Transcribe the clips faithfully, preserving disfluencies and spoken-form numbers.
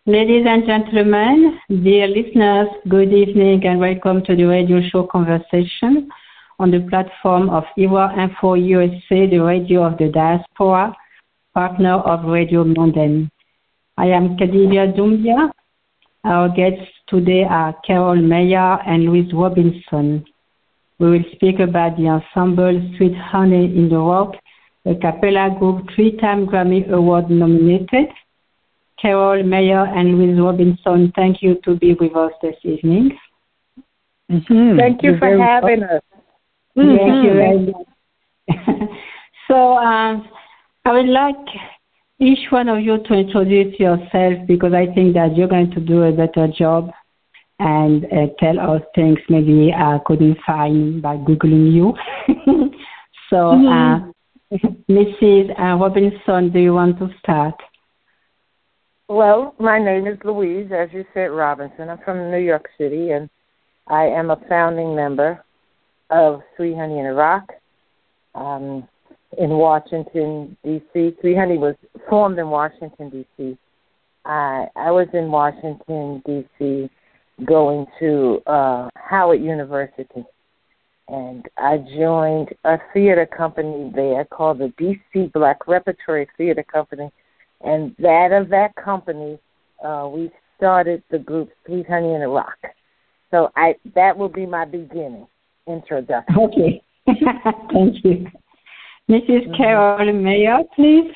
Ladies and gentlemen, dear listeners, good evening and welcome to the radio show Conversation on the platform of I W A Info U S A, the radio of the diaspora, partner of Radio Mondaine. I am Khadija Doumbia. Our guests today are Carol Meyer and Louise Robinson. We will speak about the ensemble Sweet Honey in the Rock, a cappella group three-time Grammy Award nominated. Carol Meyer and Louise Robinson, thank you to be with us this evening. Mm-hmm. Thank you You're for having us. Mm-hmm. Thank you very much. So um, I would like each one of you to introduce yourself because I think that you're going to do a better job and uh, tell us things maybe I couldn't find by Googling you. So, mm-hmm. uh, Missus Robinson, do you want to start? Well, my name is Louise, as you said, Robinson. I'm from New York City, and I am a founding member of Sweet Honey in the Rock um, in Washington, D C Sweet Honey was formed in Washington, D C I, I was in Washington, D C going to uh, Howard University, and I joined a theater company there called the D C Black Repertory Theater Company. And that of that company, uh, we started the group Sweet Honey in the Rock. So I that will be my beginning introduction. Okay. Thank you. Missus Mm-hmm. Carol Meyer, please.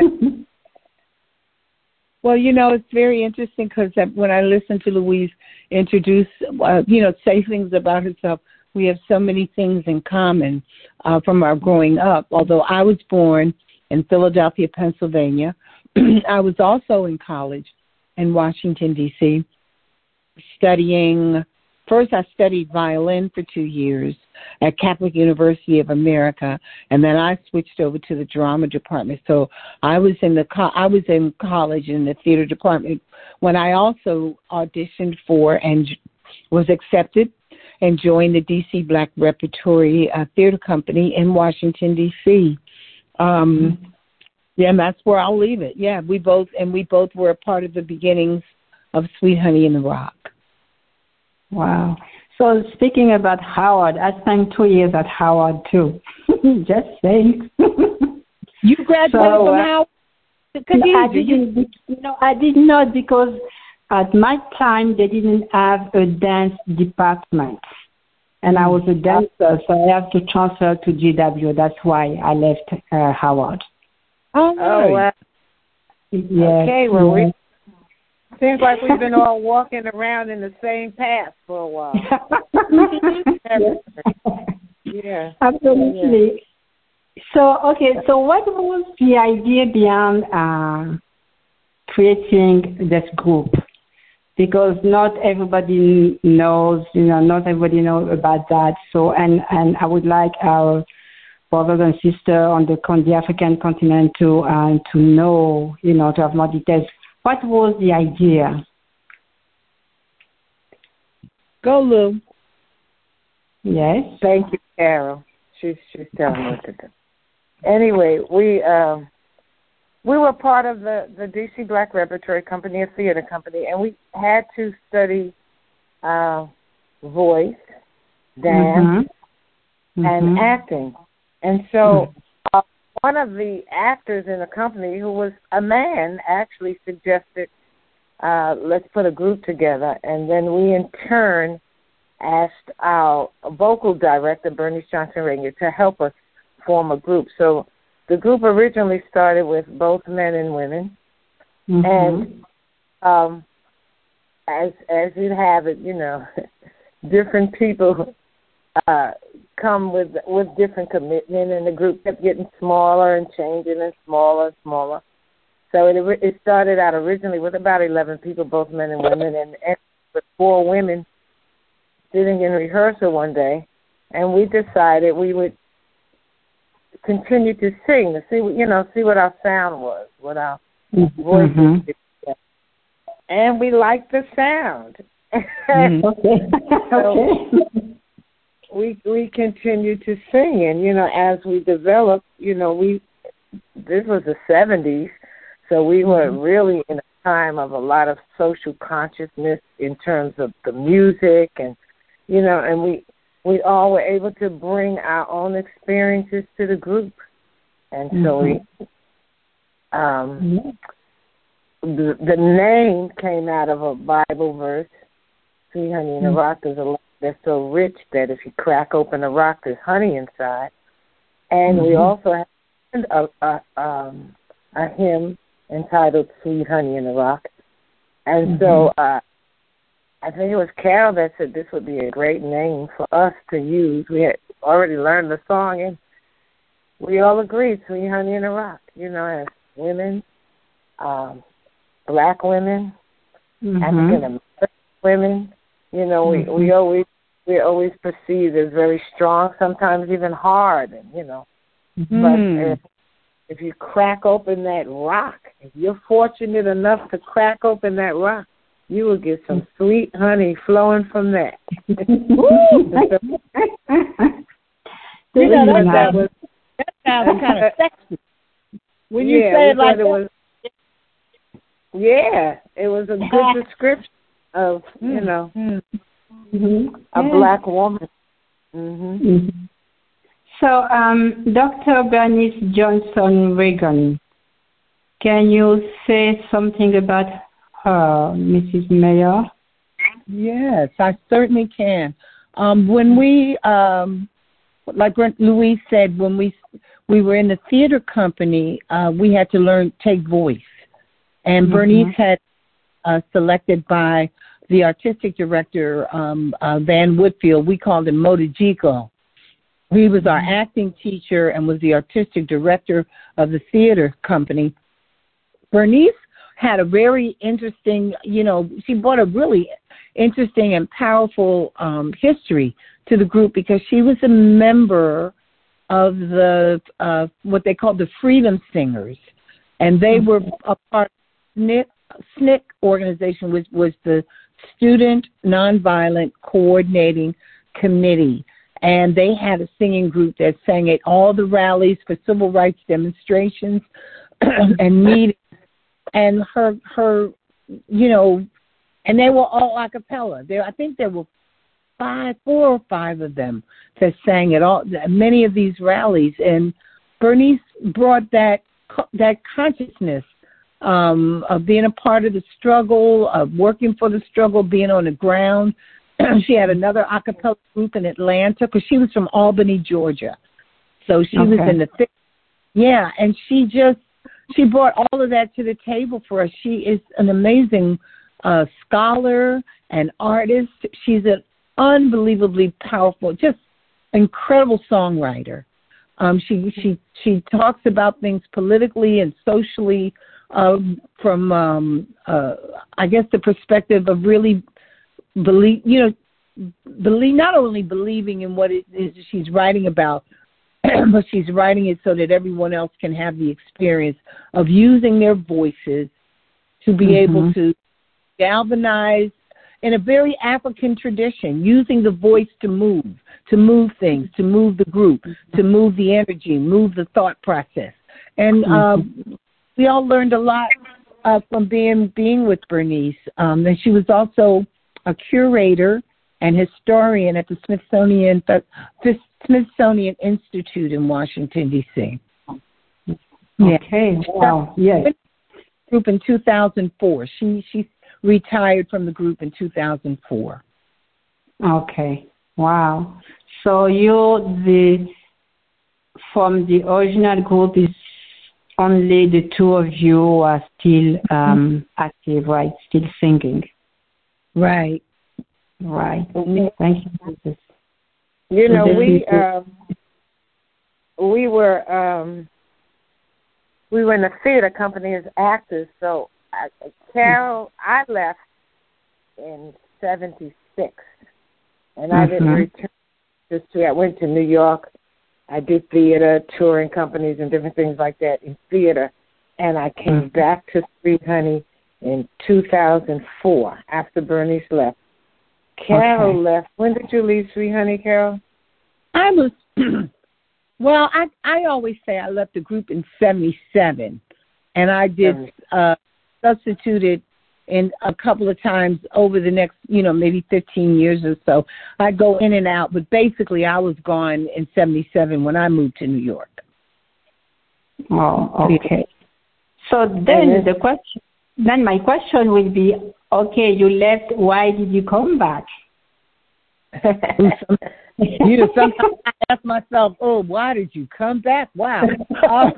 Well, you know, it's very interesting because when I listen to Louise introduce, uh, you know, say things about herself, we have so many things in common uh, from our growing up. Although I was born in Philadelphia, Pennsylvania, I was also in college in Washington, D C, studying. First, I studied violin for two years at Catholic University of America, and then I switched over to the drama department. So I was in the co- I was in college in the theater department when I also auditioned for and was accepted and joined the D C Black Repertory uh, Theater Company in Washington, D C Um, Yeah, and that's where I'll leave it. Yeah, we both and we both were a part of the beginnings of Sweet Honey in the Rock. Wow. So speaking about Howard, I spent two years at Howard too. Just saying. You graduated so, from uh, Howard? No, I didn't. You know, I did not because at my time they didn't have a dance department, and I was a dancer, so I have to transfer to G W. That's why I left uh, Howard. Oh, oh wow. Yes, okay, well, yes. we, seems like we've been all walking around in the same path for a while. Yeah. Absolutely. Yeah. So, okay, so what was the idea behind uh, creating this group? Because not everybody knows, you know, not everybody knows about that. So, and, and I would like our brothers and sisters on the, on the African continent to uh, to know, you know, to have more details. What was the idea? Go, Lou. Yes. Thank you, Carol. She's she's telling me what to do. Anyway, we um, we were part of the, the D C Black Repertory Company, a theater company, and we had to study uh, voice, dance, mm-hmm. and mm-hmm. acting. And so uh, one of the actors in the company, who was a man, actually suggested, uh, let's put a group together. And then we, in turn, asked our vocal director, Bernice Johnson-Rainier, to help us form a group. So the group originally started with both men and women. Mm-hmm. And um, as as you have it, you know, different people uh, come with with different commitment, and the group kept getting smaller and changing and smaller and smaller. So it it started out originally with about eleven people, both men and women, and, and with four women sitting in rehearsal one day, and we decided we would continue to sing to see what you know see what our sound was, what our mm-hmm. voices mm-hmm. and we liked the sound. Mm-hmm. Okay. So, we we continue to sing, and you know, as we developed, you know, we this was the seventies, so we were really in a time of a lot of social consciousness in terms of the music, and you know, and we we all were able to bring our own experiences to the group, and so mm-hmm. we um, the the name came out of a Bible verse. Sweet honey in a rock is a that's so rich that if you crack open a rock, there's honey inside. And mm-hmm. we also have a, a, um, a hymn entitled Sweet Honey in the Rock. And mm-hmm. so uh, I think it was Carol that said this would be a great name for us to use. We had already learned the song, and we all agreed, Sweet Honey in the Rock, you know, as women, um, black women, mm-hmm. African-American women. You know, we, mm-hmm. we always we're always perceived as very strong, sometimes even hard, and you know. Mm-hmm. But if, if you crack open that rock, if you're fortunate enough to crack open that rock, you will get some sweet honey flowing from that. you know, that, that was that sounds kind of sexy. When you yeah, say it like it was, yeah, it was a good description of, you know, mm-hmm. a yeah. black woman. Mm-hmm. Mm-hmm. So, um, Doctor Bernice Johnson Reagan, can you say something about her, Missus Mayer? Yes, I certainly can. Um, when we, um, like Louise said, when we we were in the theater company, uh, we had to learn take voice, and mm-hmm. Bernice had uh, selected by the artistic director, um, uh, Van Woodfield. We called him Motojico. He was our acting teacher and was the artistic director of the theater company. Bernice had a very interesting, you know, she brought a really interesting and powerful um, history to the group because she was a member of the, uh, what they called the Freedom Singers. And they were a part of the S N C C organization, which was the Student Nonviolent Coordinating Committee. And they had a singing group that sang at all the rallies for civil rights demonstrations and meetings. And her, her, you know, and they were all a cappella. There, I think there were five, four or five of them that sang at all many of these rallies. And Bernice brought that that consciousness um, of being a part of the struggle, of working for the struggle, being on the ground. She had another a cappella group in Atlanta because she was from Albany, Georgia. So she okay. was in the thick. Yeah, and she just, she brought all of that to the table for us. She is an amazing uh, scholar and artist. She's an unbelievably powerful, just incredible songwriter. Um, she she she talks about things politically and socially uh, from, um, uh, I guess, the perspective of really believe, you know, believe not only believing in what it is she's writing about, but she's writing it so that everyone else can have the experience of using their voices to be mm-hmm. able to galvanize in a very African tradition, using the voice to move, to move things, to move the group, to move the energy, move the thought process. And mm-hmm. uh, we all learned a lot uh, from being being with Bernice. Um, and she was also a curator and historian at the Smithsonian the Smithsonian Institute in Washington, D C Okay. Yeah. Wow. Yes. Group in two thousand four. She she retired from the group in two thousand four. Okay. Wow. So you the from the original group is only the two of you are still um, active, right? Still singing. Right. Right. Thank you for this. You know, we um, we were um, we were in the theater company as actors. So, I, Carol, I left in seventy-six, and I mm-hmm. didn't return. Just to, I went to New York. I did theater, touring companies, and different things like that in theater, and I came mm-hmm. back to Sweet Honey in two thousand four after Bernice left. Carol okay. left. When did you leave Sweet Honey, Carol? I was, well, I I always say I left the group in seventy-seven, and I did uh, substituted in a couple of times over the next, you know, maybe fifteen years or so. I go in and out, but basically I was gone in seventy-seven when I moved to New York. Oh, okay. So then the question, then my question will be, okay, you left. Why did you come back? You know, sometimes I ask myself, oh, why did you come back? Wow. Um,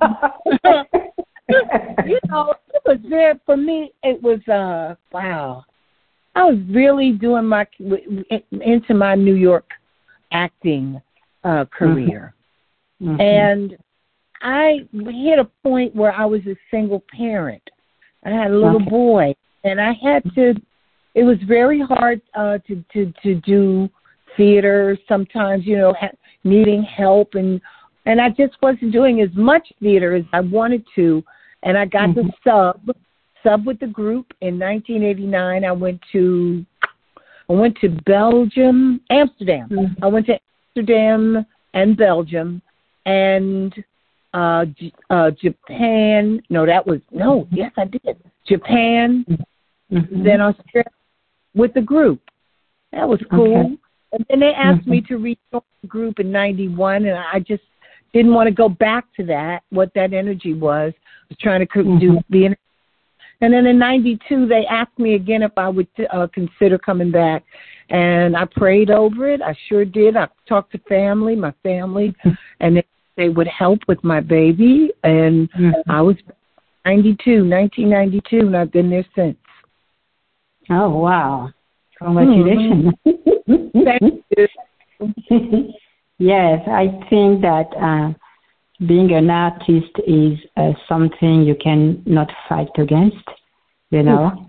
you know, it was there for me. It was, uh, wow. I was really doing my, into my New York acting uh, career. Mm-hmm. And I hit a point where I was a single parent. I had a little okay. boy, and I had to, it was very hard uh, to, to, to do theater sometimes, you know, ha- needing help. And, and I just wasn't doing as much theater as I wanted to. And I got mm-hmm. to sub, sub with the group. In nineteen eighty-nine, I went to, I went to Belgium, Amsterdam. Mm-hmm. I went to Amsterdam and Belgium and uh, J- uh, Japan. No, that was, no, yes, I did. Japan, mm-hmm. then Australia with the group. That was cool. Okay. And then they asked mm-hmm. me to rejoin the group in ninety-one, and I just didn't want to go back to that, what that energy was. I was trying to mm-hmm. do the energy. And then in ninety-two, they asked me again if I would uh, consider coming back. And I prayed over it. I sure did. I talked to family, my family, and they, they would help with my baby. And mm-hmm. I was ninety-two, nineteen ninety-two, and I've been there since. Oh, wow. Congratulations. Mm-hmm. Thank you. Yes, I think that uh, being an artist is uh, something you can not fight against, you know.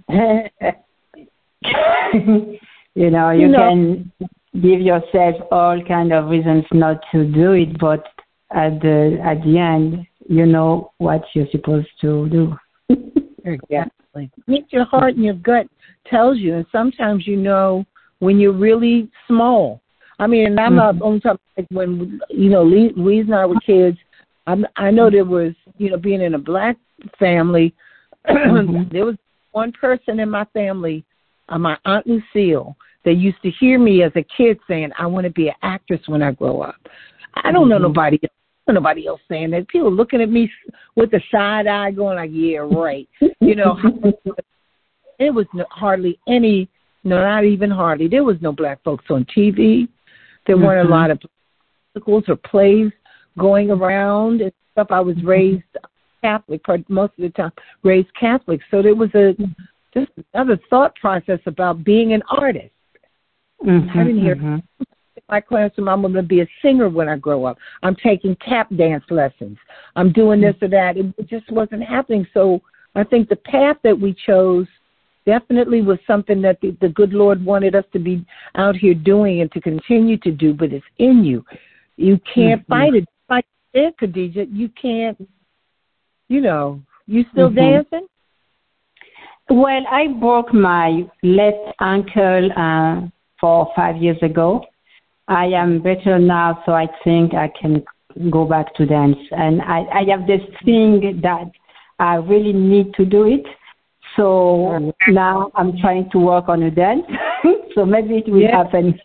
you know, you, you know. can give yourself all kind of reasons not to do it, but at the at the end, you know what you're supposed to do. Exactly. What your heart and your gut tells you, and sometimes you know when you're really small. I mean, and I'm mm-hmm. not on top. Like when you know, Louise and I were kids. I'm, I know there was, you know, being in a black family. Mm-hmm. There was one person in my family, uh, my Aunt Lucille, that used to hear me as a kid saying, "I want to be an actress when I grow up." I don't mm-hmm. know nobody else. Nobody else saying that. People looking at me with a side eye, going like, "Yeah, right." You know, it was no, hardly any. No, not even hardly. There was no black folks on T V. There mm-hmm. weren't a lot of musicals or plays going around and stuff. I was raised Catholic, most of the time raised Catholic. So there was a just another thought process about being an artist. Mm-hmm, I didn't hear mm-hmm. in my classroom, I'm going to be a singer when I grow up. I'm taking tap dance lessons. I'm doing this or that. It, it just wasn't happening. So I think the path that we chose definitely was something that the, the good Lord wanted us to be out here doing and to continue to do, but it's in you. You can't mm-hmm. fight it. Like it, Khadija, you can't, you know, you still mm-hmm. dancing? Well, I broke my left ankle uh, four or five years ago. I am better now, so I think I can go back to dance. And I, I have this thing that I really need to do it. So now I'm trying to work on a dance. So maybe it will yeah. happen.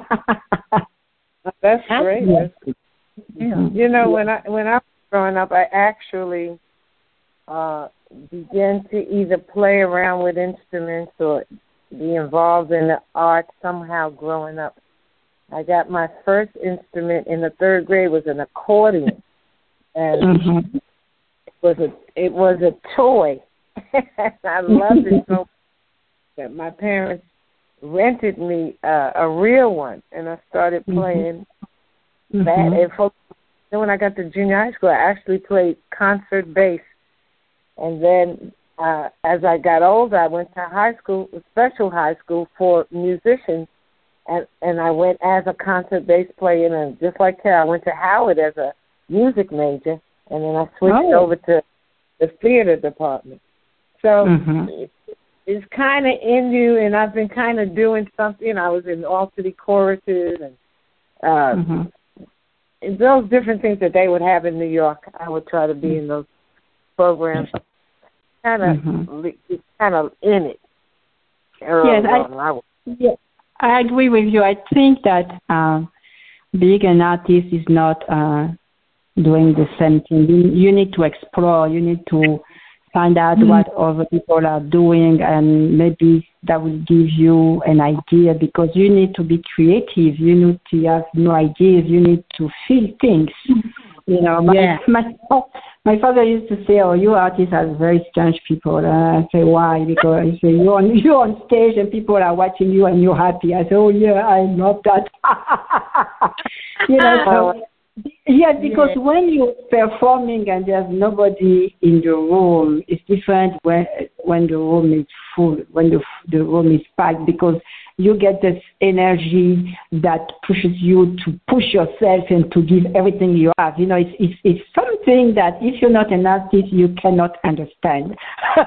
That's great. That's, yeah. You know, when I when I was growing up, I actually uh, began to either play around with instruments or be involved in the arts somehow growing up. I got my first instrument in the third grade was an accordion, and mm-hmm. it was a it was a toy. I loved it so much that my parents rented me uh, a real one, and I started playing mm-hmm. that. And for, then when I got to junior high school, I actually played concert bass. And then uh, as I got older, I went to high school, special high school for musicians, and, and I went as a concert bass player. And just like Carol, I went to Howard as a music major, and then I switched oh. over to the theater department. So mm-hmm. it, it's kind of in you, and I've been kind of doing something. You know, I was in all city choruses and uh, mm-hmm. those different things that they would have in New York. I would try to be in those programs. Kind of mm-hmm. kind of in it. Yes, I, I, yeah, I agree with you. I think that uh, being an artist is not uh, doing the same thing. You, you need to explore. You need to find out mm-hmm. what other people are doing, and maybe that will give you an idea, because you need to be creative. You need to have new ideas. You need to feel things. You know, my, yeah. my, my father used to say, "Oh, you artists are very strange people." And I say, "Why?" Because he say, "You're on, you're on stage and people are watching you and you're happy." I say, "Oh yeah, I love that." you know, so, yeah, because yeah. when you're performing and there's nobody in the room, it's different when when the room is full, when the the room is packed, because you get this energy that pushes you to push yourself and to give everything you have. You know, it's it's, it's something that if you're not an artist, you cannot understand.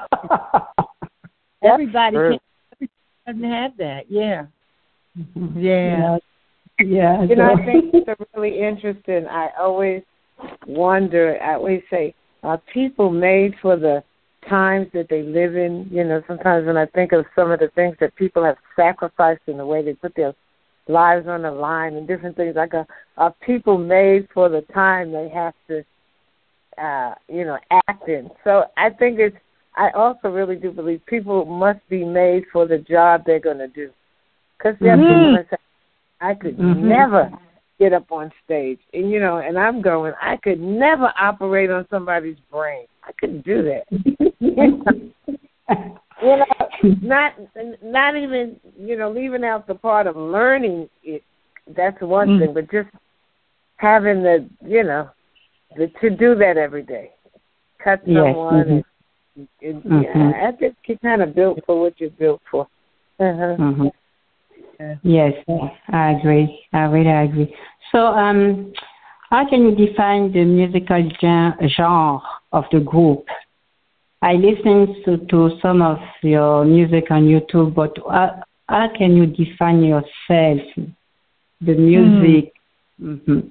Everybody can, doesn't have that. Yeah. Mm-hmm. Yeah. Yeah. You know, I think it's really interesting. I always wonder, I always say, are people made for the times that they live in? You know, sometimes when I think of some of the things that people have sacrificed in the way they put their lives on the line and different things, I go, are people made for the time they have to, uh, you know, act in? So I think it's, I also really do believe people must be made for the job they're going to do. Because there are people that say, I could mm-hmm. never get up on stage. And, you know, and I'm going, I could never operate on somebody's brain. I couldn't do that. you know, not not even, you know, leaving out the part of learning it. That's one mm. thing, but just having the, you know, the, to do that every day. Cut someone. Yes. And, and, mm-hmm. Yeah, I think you're kind of built for what you're built for. Uh-huh. Mm-hmm. Yes, I agree. I really agree. So, um, how can you define the musical genre of the group? I listened to, to some of your music on YouTube, but how, how can you define yourself, the music? Mm-hmm. Mm-hmm.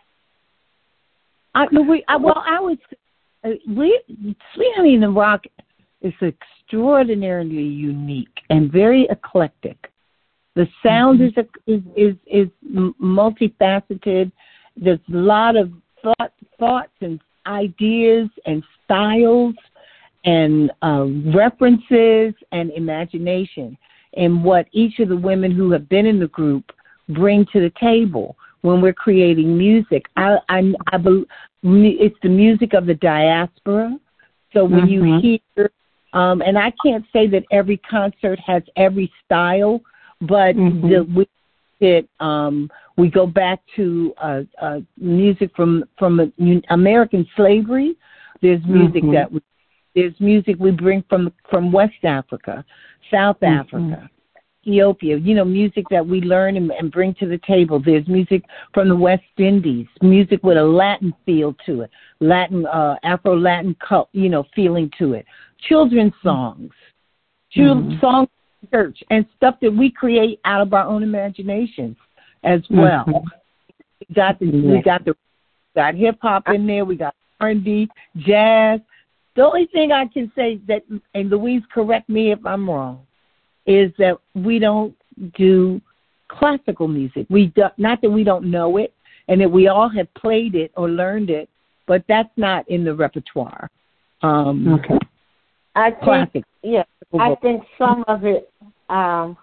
I, we, I, well, I would uh, we Sweet Honey in the Rock is extraordinarily unique and very eclectic. The sound mm-hmm. is, is is is multifaceted. There's a lot of thought, thoughts and ideas and styles and uh, references and imagination, and what each of the women who have been in the group bring to the table when we're creating music. I, I, I believe it's the music of the diaspora. So when mm-hmm. you hear, um, and I can't say that every concert has every style, but mm-hmm. the, we it, um, we go back to uh, uh, music from from uh, American slavery. There's music mm-hmm. that we, there's music we bring from from West Africa, South mm-hmm. Africa, Ethiopia. You know, music that we learn and, and bring to the table. There's music from the West Indies, music with a Latin feel to it, Latin uh, Afro-Latin, you know, feeling to it. Children's songs, mm-hmm. songs. Church and stuff that we create out of our own imaginations as well. Mm-hmm. We got the yeah. we got the got hip hop in there. We got R and B, jazz. The only thing I can say that, and Louise, correct me if I'm wrong, is that we don't do classical music. We do, not that we don't know it, and that we all have played it or learned it, but that's not in the repertoire. Um, okay. I think, classic. Yeah, I think some of it, um,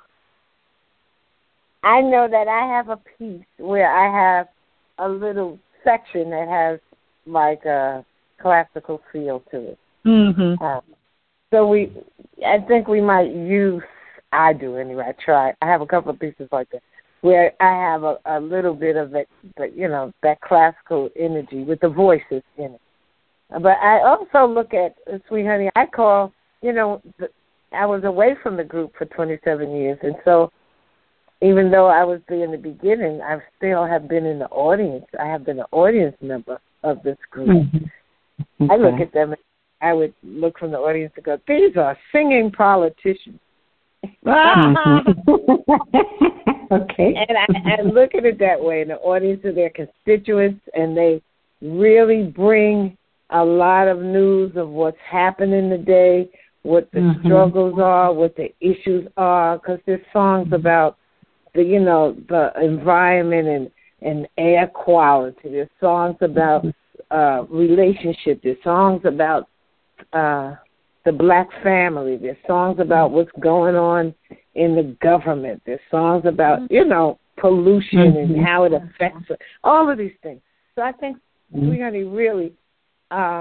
I know that I have a piece where I have a little section that has like a classical feel to it. Mm-hmm. Um, so we, I think we might use, I do anyway, I try. I have a couple of pieces like that where I have a, a little bit of it, but you know, that classical energy with the voices in it. But I also look at uh, Sweet Honey. I call, you know, the, I was away from the group for twenty-seven years, and so even though I was there in the beginning, I still have been in the audience. I have been an audience member of this group. Mm-hmm. Okay. I look at them, and I would look from the audience and go, "These are singing politicians." Mm-hmm. Okay. And I, I look at it that way, and the audience are their constituents, and they really bring a lot of news of what's happening today, what the mm-hmm. struggles are, what the issues are, because there's songs about the, you know, the environment and, and air quality. There's songs about uh, relationship. There's songs about uh, the black family. There's songs about what's going on in the government. There's songs about, you know, pollution mm-hmm. and how it affects it. All of these things. So I think mm-hmm. Sweet Honey really uh,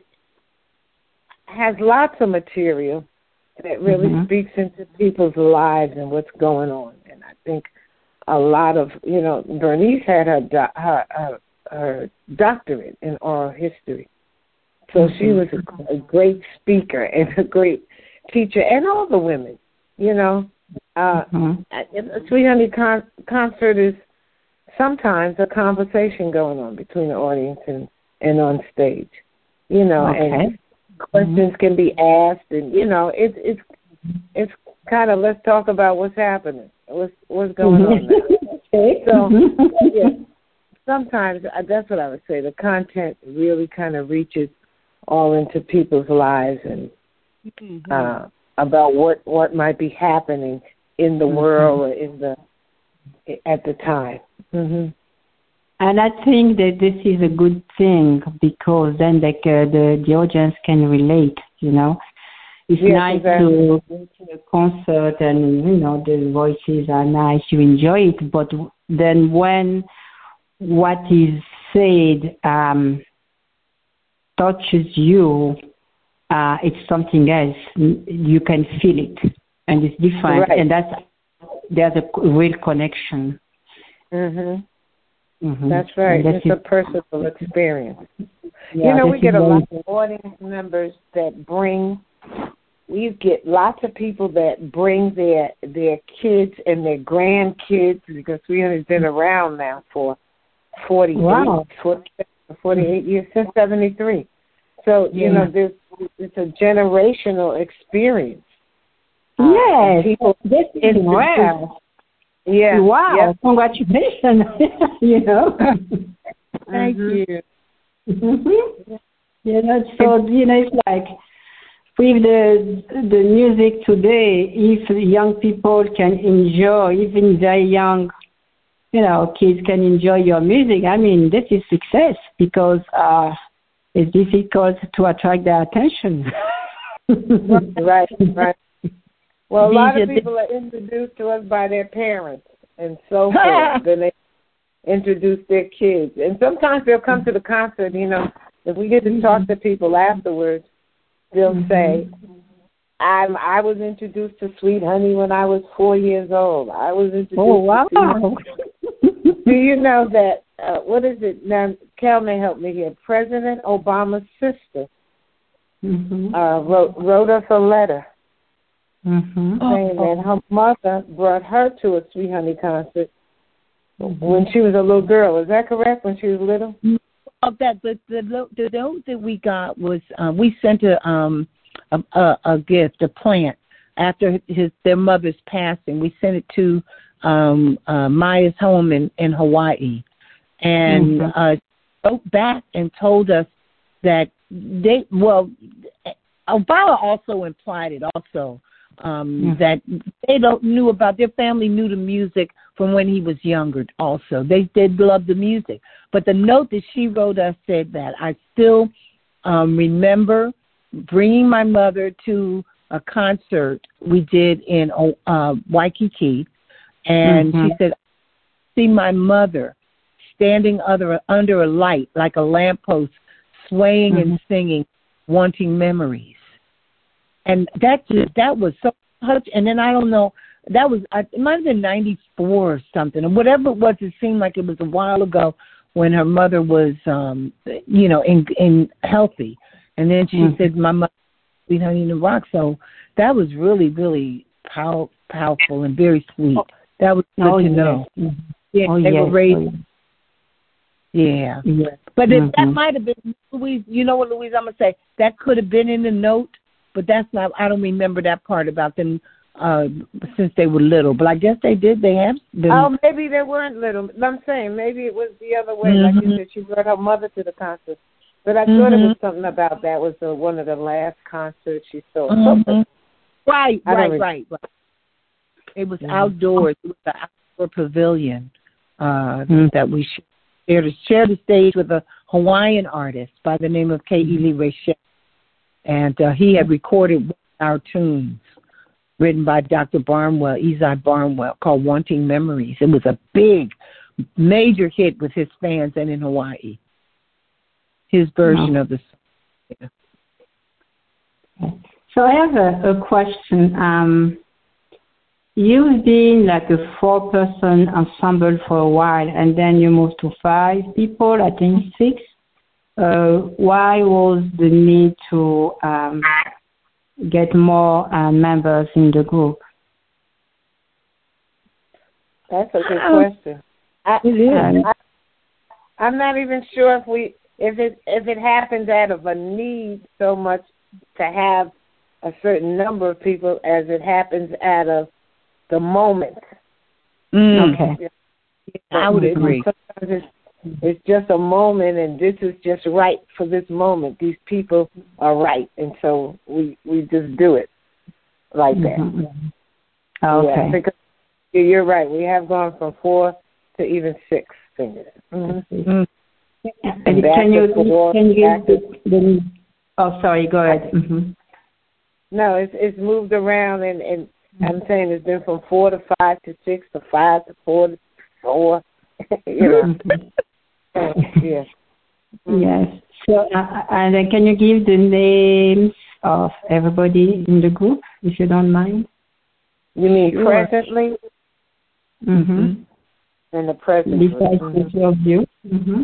has lots of material that really mm-hmm. speaks into people's lives and what's going on. And I think a lot of, you know, Bernice had her do- her, her, her doctorate in oral history. So mm-hmm. she was a, a great speaker and a great teacher, and all the women, you know. Uh, mm-hmm. A Sweet Honey con- concert is sometimes a conversation going on between the audience and, and on stage, you know, okay. and questions mm-hmm. can be asked, and, you know, it, it's it's kind of, let's talk about what's happening, what's, what's going on now. Okay. So, yeah, sometimes, uh, that's what I would say, the content really kind of reaches all into people's lives and mm-hmm. uh, about what, what might be happening in the mm-hmm. world or in the at the time. Mm-hmm. And I think that this is a good thing because then like uh, the the audience can relate. You know, it's yes, nice exactly. to go to a concert and you know the voices are nice, you enjoy it. But then when what is said um, touches you, uh, it's something else. You can feel it, and it's different, right. and that's there's a real connection. Mhm. Mm-hmm. That's right. That's it's it. a personal experience. Yeah, you know, we get a very... lot of audience members that bring. We get lots of people that bring their their kids and their grandkids because we have been around now for forty-eight, wow. forty-eight years since seventy-three. So yeah. you know, this it's a generational experience. Yes, uh, people this is wow. Yeah. Wow. Yep. Congratulations. you know. Thank mm-hmm. you. Mm-hmm. You know, so you know, it's like with the the music today, if young people can enjoy, even very young, you know, kids can enjoy your music. I mean, this is success because uh, it's difficult to attract their attention. right. Right. Well, a lot of people are introduced to us by their parents and so forth. Then they introduce their kids. And sometimes they'll come to the concert, you know, if we get to talk to people afterwards, they'll mm-hmm. say, I'm, I was introduced to Sweet Honey when I was four years old. I was introduced oh, wow. to Do you know that, uh, what is it? Now, Cal may help me here. President Obama's sister mm-hmm. uh, wrote, wrote us a letter. Mm-hmm. saying oh, that her mother brought her to a Sweet Honey concert mm-hmm. when she was a little girl. Is that correct? When she was little? Of that, the the the note that we got was uh, we sent a um a, a, a gift, a plant after his their mother's passing. We sent it to um uh, Maya's home in in Hawaii, and mm-hmm. uh, wrote back and told us that they well, Obama also implied it also. Um, yeah. That they don't knew about their family knew the music from when he was younger. Also, they did love the music. But the note that she wrote us said that I still um, remember bringing my mother to a concert we did in uh, Waikiki, and mm-hmm. she said, I see my mother standing under under a light like a lamppost, swaying mm-hmm. and singing, wanting memories. And that just, that was so much. And then I don't know, that was, it might have been ninety-four or something. And whatever it was, it seemed like it was a while ago when her mother was, um, you know, in, in healthy. And then she mm-hmm. said, my mother, Sweet Honey in the Rock. So that was really, really pow- powerful and very sweet. That was good oh, to yes. know. Mm-hmm. Yeah, oh, they yes. were raised. Oh, yeah. yes. But mm-hmm. it, that might have been, Louise, you know what, Louise, I'm going to say, that could have been in the note. But that's not, I don't remember that part about them uh, since they were little. But I guess they did. They have been. Oh, maybe they weren't little. I'm saying maybe it was the other way. Mm-hmm. Like you said, she brought her mother to the concert. But I mm-hmm. thought it was something about that was the, one of the last concerts she saw. Mm-hmm. Right, right, really... right, right. It was mm-hmm. outdoors. It was the outdoor pavilion uh, mm-hmm. that we shared, shared the stage with a Hawaiian artist by the name of K. Ely Rachel. And uh, he had recorded our tunes written by Doctor Barnwell, Ezai Barnwell, called Wanting Memories. It was a big, major hit with his fans and in Hawaii. His version oh. of the song. Yeah. So I have a, a question. Um, you've been like a four-person ensemble for a while, and then you moved to five people, I think six. Uh, why was the need to um, get more uh, members in the group? That's a good question. I, it is. I, I'm not even sure if we if it if it happens out of a need so much to have a certain number of people as it happens out of the moment. Mm. Okay. I would agree. Sometimes it's, it's just a moment, and this is just right for this moment. These people are right, and so we we just do it like that. Mm-hmm. Okay. Yeah, because you're right. We have gone from four to even six singers. Mm-hmm. Mm-hmm. And can you four, can you give the, the oh sorry go ahead. Mm-hmm. No, it's it's moved around, and, and I'm saying it's been from four to five to six to five to four to four. You know. Yes. Mm-hmm. Yes. So, uh, and then can you give the names of everybody in the group, if you don't mind? You mean sure. Presently? Mm-hmm. And the present. Besides mm-hmm. the two of you. Mm-hmm.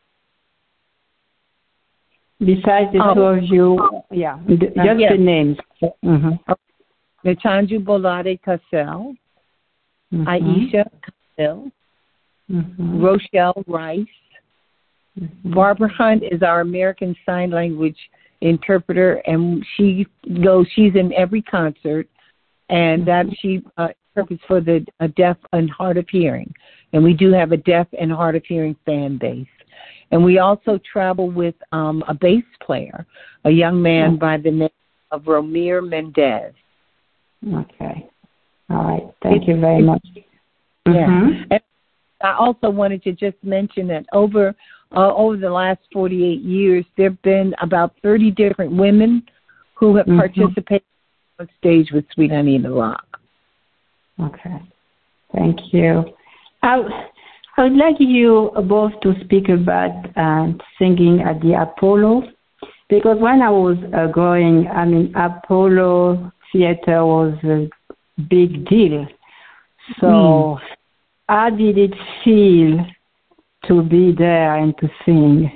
Besides the oh. two of you, yeah, the, just yes. the names. Mm-hmm. Nchanju Bolade Cassell, mm-hmm. Aisha Cassell, mm-hmm. Rochelle Rice. Mm-hmm. Barbara Hunt is our American Sign Language interpreter, and she goes. She's in every concert, and that she uh, interprets for the uh, deaf and hard of hearing. And we do have a deaf and hard of hearing fan base. And we also travel with um, a bass player, a young man oh. by the name of Romir Mendez. Okay. All right. Thank it's, you very much. Yeah. Mm-hmm. And I also wanted to just mention that over uh, over the last forty-eight years, there have been about thirty different women who have mm-hmm. participated on stage with Sweet Honey in the Rock. Okay. Thank you. I, I would like you both to speak about uh, singing at the Apollo, because when I was uh, going, I mean, Apollo Theater was a big deal. So mm. how did it feel to be there and to sing?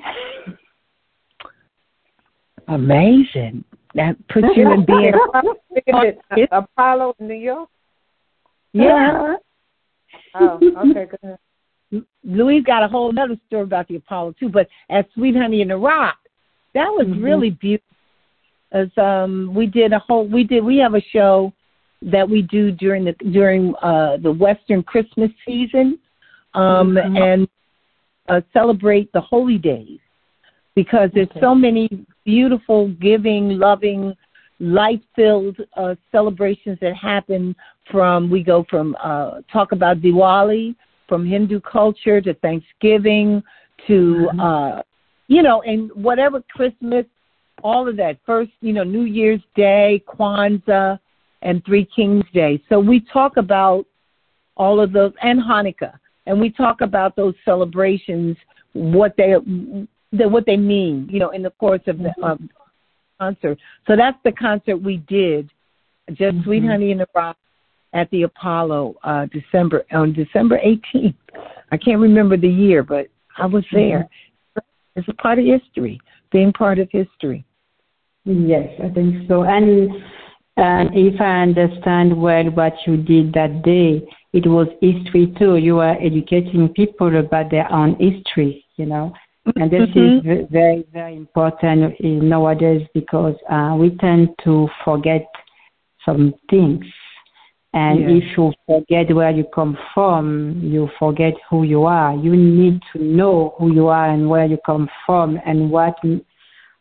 Amazing. That puts you in being. Apollo, New York? Yeah. Oh, okay, go ahead. Louise got a whole other story about the Apollo too, but at Sweet Honey in the Rock, that was mm-hmm. really beautiful. As um, we did a whole, we did, we have a show that we do during the during uh, the Western Christmas season, um, mm-hmm. and uh, celebrate the holy days, because there's okay. so many beautiful, giving, loving, light-filled uh, celebrations that happen. From we go from uh, talk about Diwali, from Hindu culture to Thanksgiving to, mm-hmm. uh, you know, and whatever Christmas, all of that. First, you know, New Year's Day, Kwanzaa, and Three Kings Day. So we talk about all of those, and Hanukkah, and we talk about those celebrations, what they what they mean, you know, in the course of the um, concert. So that's the concert we did, just mm-hmm. Sweet Honey in the Rock, at the Apollo, uh, December on December eighteenth. I can't remember the year, but I was there. Mm-hmm. It's a part of history, being part of history. Yes, I think so. And uh, if I understand well what you did that day, it was history too. You were educating people about their own history, you know. And this mm-hmm. is very, very important nowadays, because uh, we tend to forget some things. And yeah. if you forget where you come from, you forget who you are. You need to know who you are and where you come from and what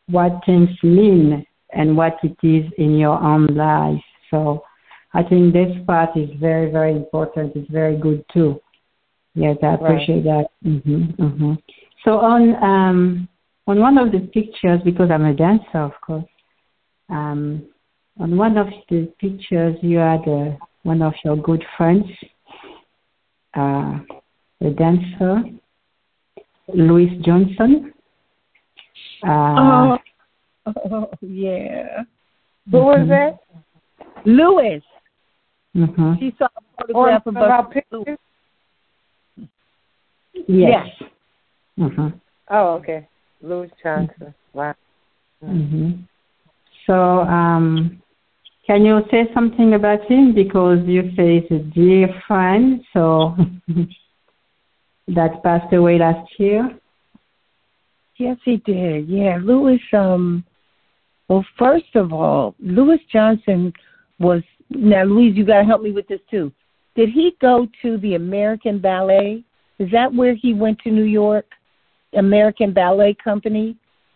what things mean and what it is in your own life. So I think this part is very, very important. It's very good too. Yes, I appreciate right. that. Mm-hmm, mm-hmm. So on um, on one of the pictures, because I'm a dancer, of course, um, on one of the pictures you had uh, one of your good friends, uh, a dancer, Louis Johnson. Uh, oh, oh, yeah. Who was that? Louis. Mm-hmm. She saw a photograph oh, of about pictures? Yes. yes. Mm-hmm. Oh, okay. Louis Johnson. Wow. Mm-hmm. So, um, can you say something about him? Because you say he's a dear friend, so that passed away last year. Yes, he did. Yeah, Louis. Um, well, first of all, Louis Johnson was. Now, Louise, you got to help me with this too. Did he go to the American Ballet? Is that where he went to New York? American Ballet Company?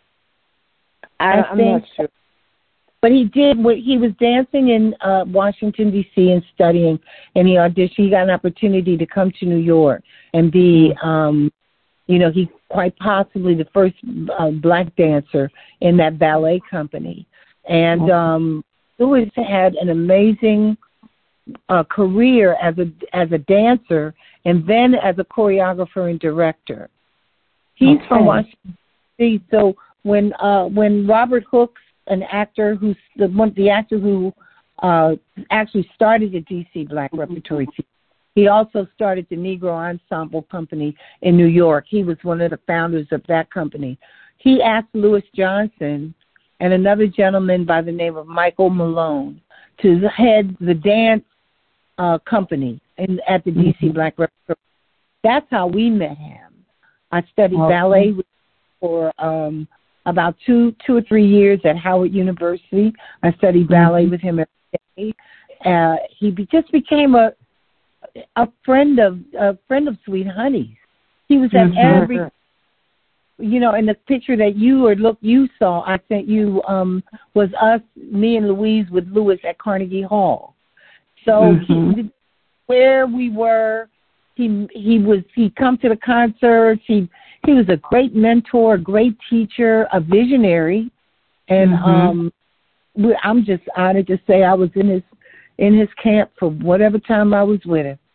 I, I I'm think. not sure. But he did. He was dancing in uh, Washington, D C and studying, and he auditioned. He got an opportunity to come to New York and be, mm-hmm. um, you know, he quite possibly the first uh, black dancer in that ballet company. And mm-hmm. um, Louis had an amazing uh, career as a as a dancer and then as a choreographer and director. He's okay. from Washington, D C So when uh, when Robert Hooks, an actor who's the one, the actor who uh, actually started the D C Black Repertory Theater, he also started the Negro Ensemble Company in New York. He was one of the founders of that company. He asked Louis Johnson and another gentleman by the name of Michael Malone to head the dance uh, company in, at the mm-hmm. D C Black Repertory. That's how we met him. I studied okay. ballet with, for um, about two, two or three years at Howard University. I studied ballet mm-hmm. with him every day. Uh, he be, just became a a friend of a friend of Sweet Honey's. He was at mm-hmm. every. You know, in the picture that you or look you saw, I sent you um, was us, me and Louise with Louis at Carnegie Hall. So mm-hmm. he, where we were, he he was he come to the concerts. He he was a great mentor, a great teacher, a visionary, and mm-hmm. um, we, I'm just honored to say I was in his in his camp for whatever time I was with him.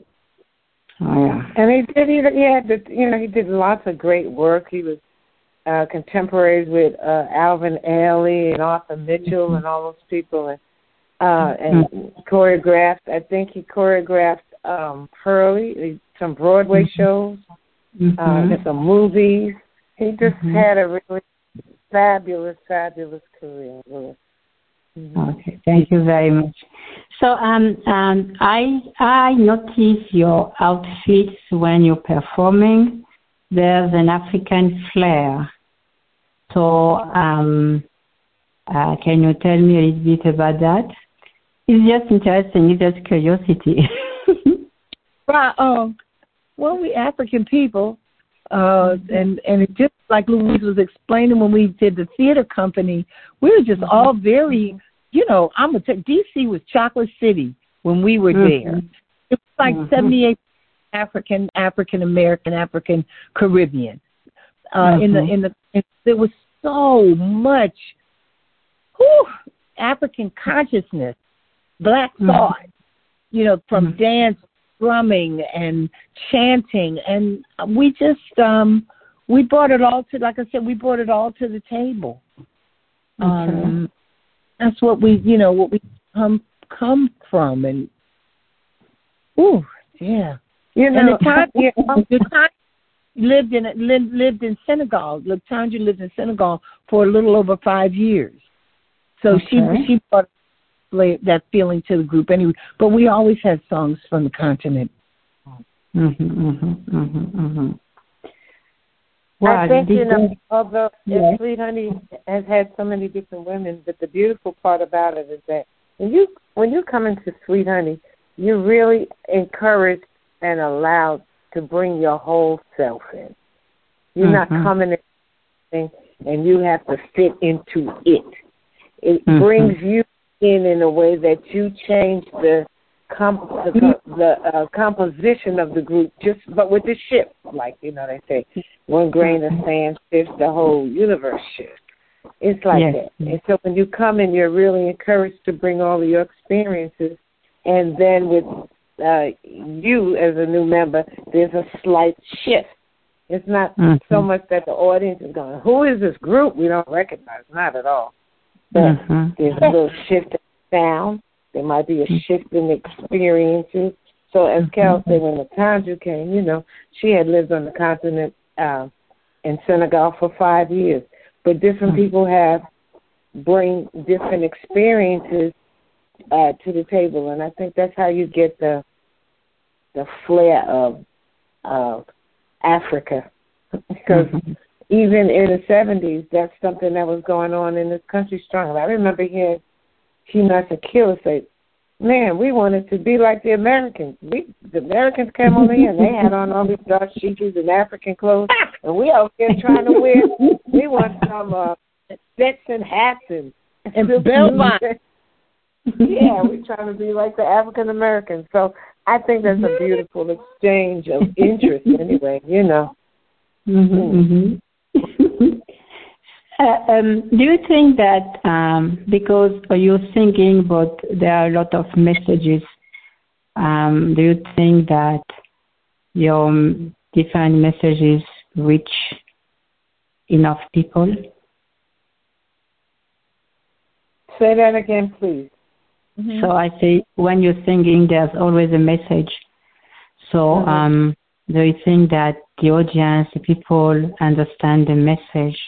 Oh, yeah. And he did. He, he had, the, you know, he did lots of great work. He was uh, contemporaries with uh, Alvin Ailey and Arthur Mitchell mm-hmm. and all those people, and uh, and mm-hmm. choreographed. I think he choreographed um, Hurley, some Broadway mm-hmm. shows, mm-hmm. uh, and some movies. He just mm-hmm. had a really fabulous, fabulous career. Louis. Okay, thank you very much. So um, um, I I notice your outfits when you're performing. There's an African flair. So um, uh, can you tell me a little bit about that? It's just interesting. It's just curiosity. Right. Um, well, we African people, uh, and and it just like Louise was explaining when we did the theater company, we were just all very. You know, I'm gonna tell D C was Chocolate City when we were mm-hmm. there. It was like mm-hmm. seventy-eight African, African American, African Caribbean. Uh, mm-hmm. In the in the in, there was so much whew, African consciousness, Black thought. Mm-hmm. You know, from mm-hmm. dance, drumming, and chanting, and we just um, we brought it all to. Like I said, we brought it all to the table. Okay. Um, That's what we, you know, what we come come from, and ooh, yeah, you know, and the time, yeah, the time lived in lived, lived in Senegal. Latanja lived in Senegal for a little over five years, so okay. she she brought that feeling to the group anyway. But we always had songs from the continent. Mm-hmm, mm-hmm, mm-hmm, mm-hmm. Well, I think, you know, although yeah. Sweet Honey has had so many different women, but the beautiful part about it is that when you when you come into Sweet Honey, you're really encouraged and allowed to bring your whole self in. You're mm-hmm. not coming in. and you have to fit into it. It mm-hmm. brings you in in a way that you change the comp- the, the uh, composition of the group, just but with the shift, like you know they say, one grain of sand shifts, the whole universe shifts. It's like yes. that. And so when you come in, you're really encouraged to bring all of your experiences, and then with uh, you as a new member, there's a slight shift. It's not mm-hmm. so much that the audience is going, who is this group we don't recognize? Not at all. But mm-hmm. there's a little shift in sound. There might be a shift in experiences. So as Carol said, when the times you came, you know, she had lived on the continent uh, in Senegal for five years. But different people have bring different experiences uh, to the table, and I think that's how you get the the flair of of Africa. Because mm-hmm. even in the seventies, that's something that was going on in this country strong. I remember hearing Chinas Akila say, man, we wanted to be like the Americans. We, the Americans came over here and they had on all these dark sheeties and African clothes, and we out here trying to wear, we want some uh, sets and hats and, and bell bottoms. Yeah, we're trying to be like the African Americans. So I think that's a beautiful exchange of interest anyway, you know. Mm-hmm, mm-hmm. Uh, um, do you think that um, because you're singing, but there are a lot of messages, um, do you think that your different messages reach enough people? Say that again, please. Mm-hmm. So I say when you're singing, there's always a message. So mm-hmm. um, do you think that the audience, the people understand the message?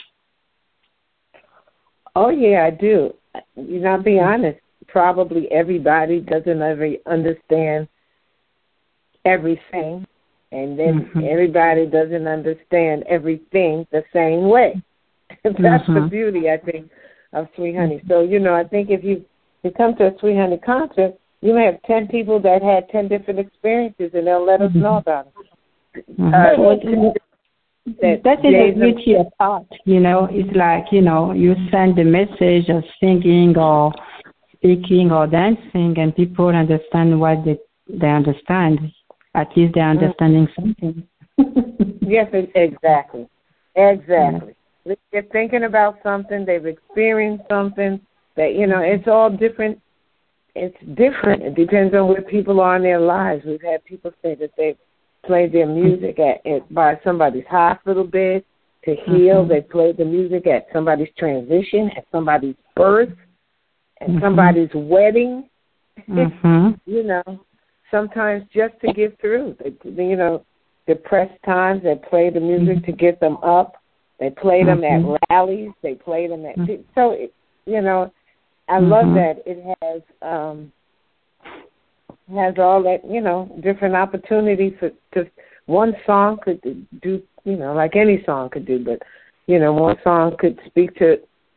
Oh, yeah, I do. You know, I'll be honest, probably everybody doesn't ever understand everything, and then mm-hmm. everybody doesn't understand everything the same way. That's mm-hmm. the beauty, I think, of Sweet Honey. So, you know, I think if you, you come to a Sweet Honey concert, you may have ten people that had ten different experiences, and they'll let us know about it. Mm-hmm. Uh, That, that is the beauty of art, you know. It's like, you know, you send the message of singing or speaking or dancing, and people understand what they, they understand. At least they're understanding something. Yes, exactly. Exactly. Yeah. They're thinking about something. They've experienced something that, you know, it's all different. It's different. It depends on where people are in their lives. We've had people say that they've played their music at, at by somebody's hospital bed to heal. Mm-hmm. They played the music at somebody's transition, at somebody's birth, at mm-hmm. somebody's wedding. Mm-hmm. You know, sometimes just to get through. They, you know, depressed times, they play the music mm-hmm. to get them up. They play them mm-hmm. at rallies. They play them at mm-hmm. so. It, you know, I mm-hmm. love that it has. Um, has all that, you know, different opportunities for, to, one song could do, you know, like any song could do, but, you know, one song could speak to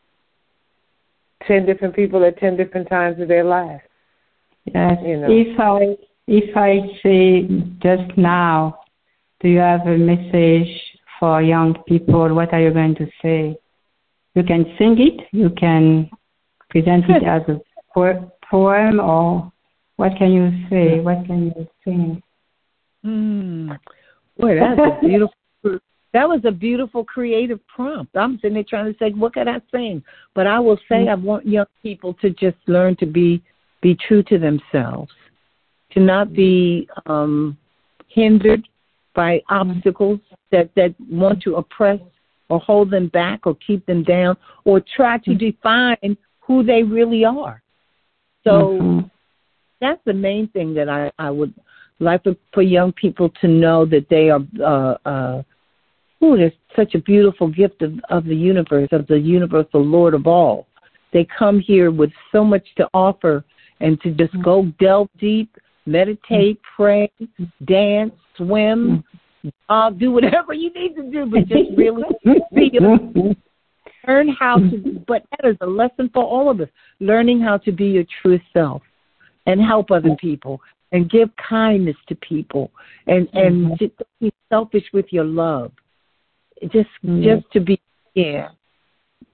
ten different people at ten different times of their lives. Yes. You know. If I, if I say just now, do you have a message for young people? What are you going to say? You can sing it, you can present it as a po- poem, or what can you say? What can you sing? Mm. Boy, that's a beautiful. That was a beautiful creative prompt. I'm sitting there trying to say, what can I sing? But I will say, I want young people to just learn to be be true to themselves, to not be um, hindered by obstacles that, that want to oppress or hold them back or keep them down or try to define who they really are. So. Mm-hmm. That's the main thing that I, I would like for, for young people to know, that they are, uh, uh, ooh, there's such a beautiful gift of, of the universe, of the universal Lord of all. They come here with so much to offer, and to just go delve deep, meditate, pray, dance, swim, uh, do whatever you need to do, but just really feel, learn how to, but that is a lesson for all of us, learning how to be your true self. And help other people, and give kindness to people, and and mm-hmm. just be selfish with your love. Just mm-hmm. just to be, yeah,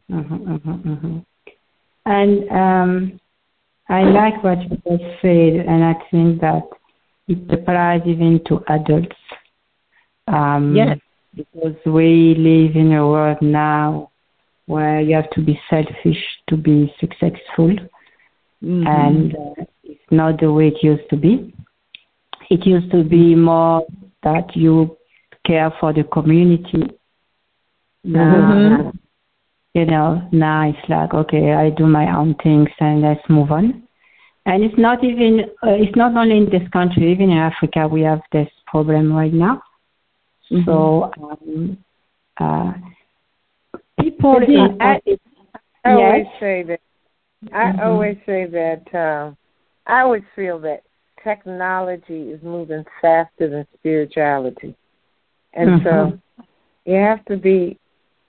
Mm-hmm, mm-hmm, mm-hmm. And um, I like what you just said, and I think that it applies even to adults. Um, Yes. Because we live in a world now where you have to be selfish to be successful, Mm-hmm. and uh, it's not the way it used to be. It used to be more that you care for the community. Mm-hmm. Uh, you know, now it's like, okay, I do my own things and let's move on. And it's not even, uh, it's not only in this country, even in Africa, we have this problem right now. Mm-hmm. So, um, uh, people, I, I, I yes. always say that, I Mm-hmm. always say that, uh, I always feel that technology is moving faster than spirituality. And Mm-hmm. so you have to be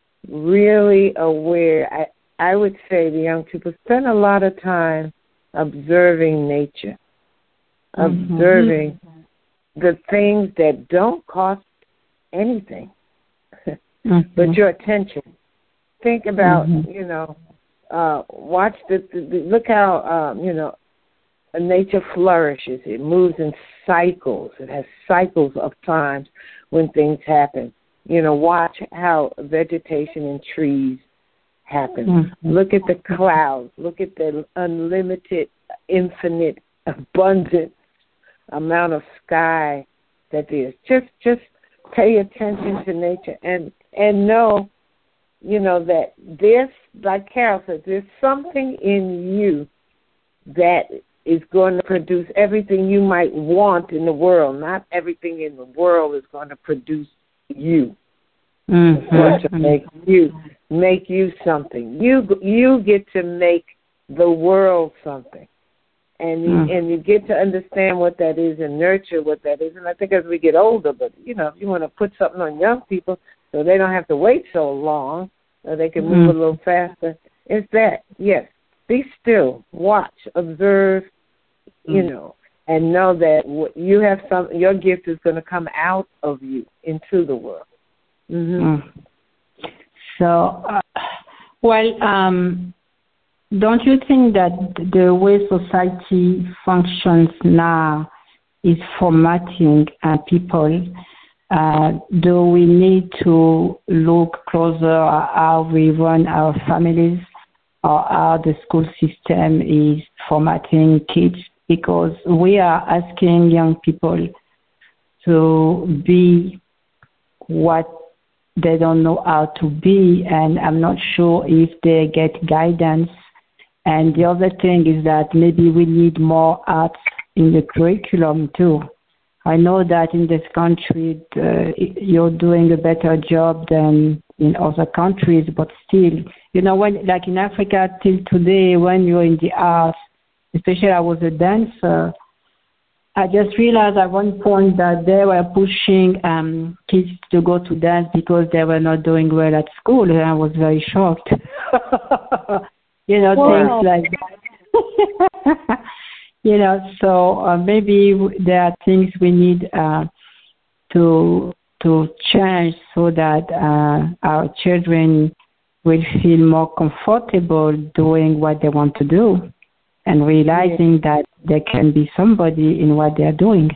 really aware. I, I would say the young people spend a lot of time observing nature, Mm-hmm. observing the things that don't cost anything, mm-hmm. but your attention. Think about, mm-hmm. you know, uh, watch the, the, the look how, um, you know, nature flourishes. It moves in cycles. It has cycles of times when things happen. You know, watch how vegetation and trees happen. Mm-hmm. Look at the clouds. Look at the unlimited, infinite, abundant amount of sky that there is. Just, just pay attention to nature and and know, you know, that this, like Carol said, there's something in you that is going to produce everything you might want in the world. Not everything in the world is going to produce you. Mm-hmm. It's going to make you make you something. You you get to make the world something, and you, mm-hmm. and you get to understand what that is and nurture what that is. And I think as we get older, but you know, if you want to put something on young people so they don't have to wait so long, or they can move mm-hmm. a little faster, it's that. Yes, be still, watch, observe, you know, and know that what you have some. Your gift is going to come out of you into the world. Mm-hmm. Mm. So, uh, well, um, don't you think that the way society functions now is formatting uh, people? Uh, do we need to look closer at how we run our families or how the school system is formatting kids? Because we are asking young people to be what they don't know how to be, and I'm not sure if they get guidance. And the other thing is that maybe we need more arts in the curriculum too. I know that in this country uh, you're doing a better job than in other countries, but still, you know, when like in Africa till today, when you're in the arts, especially I was a dancer, I just realized at one point that they were pushing um, kids to go to dance because they were not doing well at school, and I was very shocked. you know, Wow. things like that. you know, so uh, maybe there are things we need uh, to to change so that uh, our children will feel more comfortable doing what they want to do, and realizing yeah. that they can be somebody in what they're doing.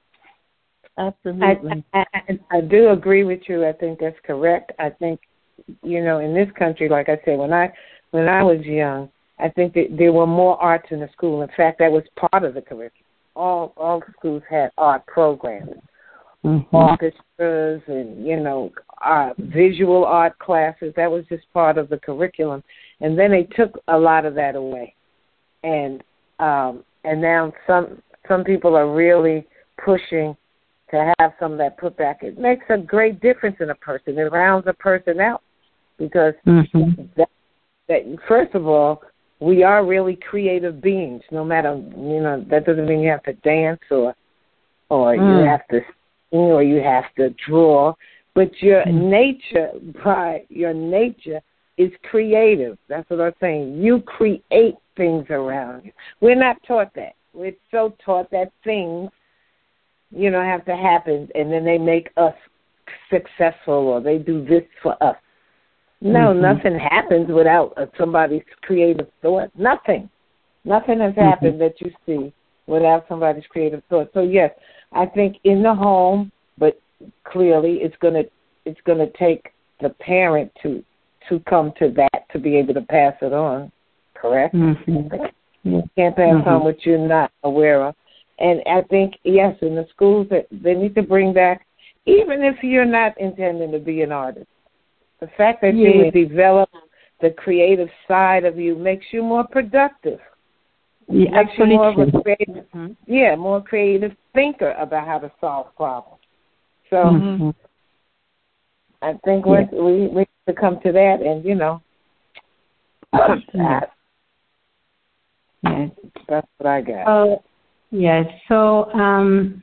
Absolutely. I, I, I, I do agree with you. I think that's correct. I think, you know, in this country, like I said, when I when I was young, I think that there were more arts in the school. In fact, that was part of the curriculum. All all schools had art programs, mm-hmm. orchestras, and, you know, uh, visual art classes. That was just part of the curriculum. And then they took a lot of that away. And um, and now some some people are really pushing to have some of that put back. It makes a great difference in a person. It rounds a person out because mm-hmm. that, that first of all, we are really creative beings. No matter, you know, that doesn't mean you have to dance or or mm. you have to sing or you have to draw, but your mm. nature, by your nature, is creative. That's what I'm saying. You create things around you. We're not taught that. We're so taught that things, you know, have to happen, and then they make us successful, or they do this for us. No, mm-hmm. nothing happens without uh, somebody's creative thought. Nothing. Nothing has happened mm-hmm. that you see without somebody's creative thought. So, yes, I think in the home, but clearly it's going to it's gonna take the parent to to come to that to be able to pass it on, correct? Mm-hmm. You can't pass mm-hmm. on what you're not aware of. And I think, yes, in the schools, that they need to bring back, even if you're not intending to be an artist, the fact that yeah. you would develop the creative side of you makes you more productive. Yeah, makes absolutely. you more of a creative, mm-hmm. yeah, more creative thinker about how to solve problems. So mm-hmm. I think yeah. we we need to come to that, and you know, that, yes, that's what I got. Uh, yes. So um,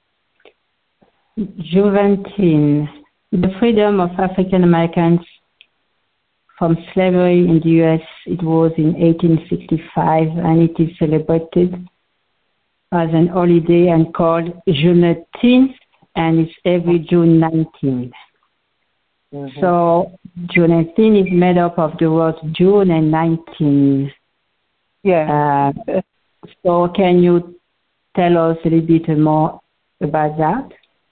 Juneteenth, the freedom of African Americans from slavery in the U S, it was in eighteen sixty-five, and it is celebrated as an holiday and called Juneteenth, and it's every June nineteenth. Mm-hmm. So Juneteenth is made up of the words June and nineteenth. Yeah. Uh, so can you tell us a little bit more about that?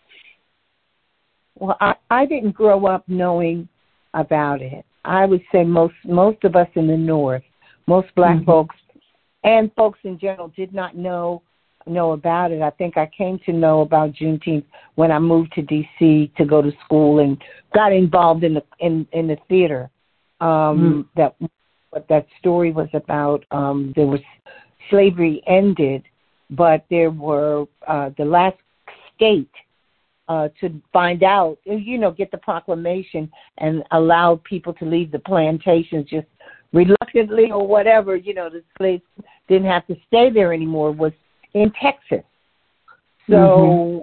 Well, I, I didn't grow up knowing about it. I would say most most of us in the North, most black mm-hmm. folks and folks in general did not know know about it. I think I came to know about Juneteenth when I moved to D C to go to school and got involved in the in, in the theater. Um, mm. That what that story was about. Um, there was slavery ended, but there were uh, the last state uh, to find out, you know, get the proclamation and allow people to leave the plantations just reluctantly or whatever. You know, the slaves didn't have to stay there anymore. Was in Texas. So mm-hmm.